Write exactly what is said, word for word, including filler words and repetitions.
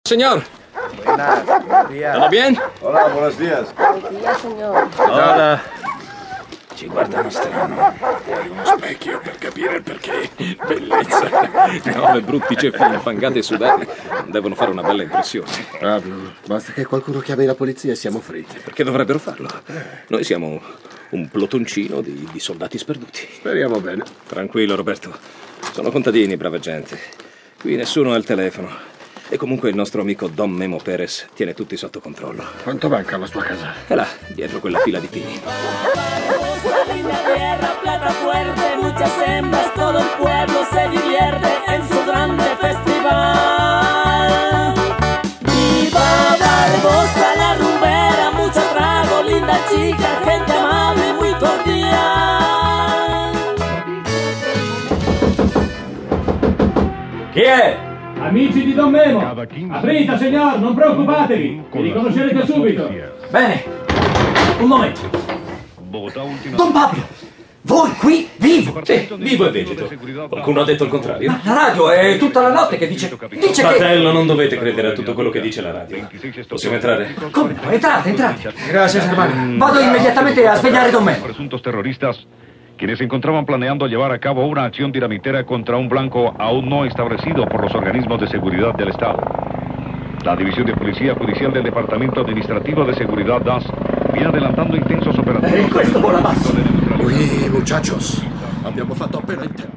Señor. Buenas, buenos días. ¿Todo bien? Hola, buenos días. Buenos días, signor. Hola. Ci guardano strano. Vuoi uno specchio per capire il perché? Bellezza. No, le brutti ceffi infangati e sudati non devono fare una bella impressione. Pablo, basta che qualcuno chiami la polizia e siamo fritti. Perché dovrebbero farlo? Noi siamo un plotoncino di, di soldati sperduti. Speriamo bene. Tranquillo, Roberto. Sono contadini, brava gente. Qui nessuno ha il telefono. E comunque il nostro amico Don Memo Perez tiene tutti sotto controllo. Quanto manca alla sua casa? È là, dietro quella fila di pini. Linda tierra, plata fuerte, muchas hembras, todo el pueblo se divierte en su grande festival. Viva Barbosa, la rumbera, mucho trago, linda chica, gente amable, muy cordial. Chi è? Amici di Don Memo. Aprite, signor, non preoccupatevi. Vi riconoscerete subito. Bene. Un momento. Don Pablo, voi qui vivo? Sì, vivo e vegeto. Qualcuno ha detto il contrario? Ma la radio è tutta la notte che dice... Dice che... Fratello, non dovete credere a tutto quello che dice la radio. Possiamo entrare? Come? Entrate, entrate. Grazie, hermano. Vado immediatamente a svegliare Don Memo. Presuntos terroristas, quienes se encontraban planeando llevar a cabo una acción dinamitera contra un blanco aún no establecido por los organismos de seguridad del Estado. La División de Policía Judicial del Departamento Administrativo de Seguridad D A S viene adelantando intensos operativos. Eh, questo vola basso. Ui, muchachos, abbiamo fatto appena in tempo.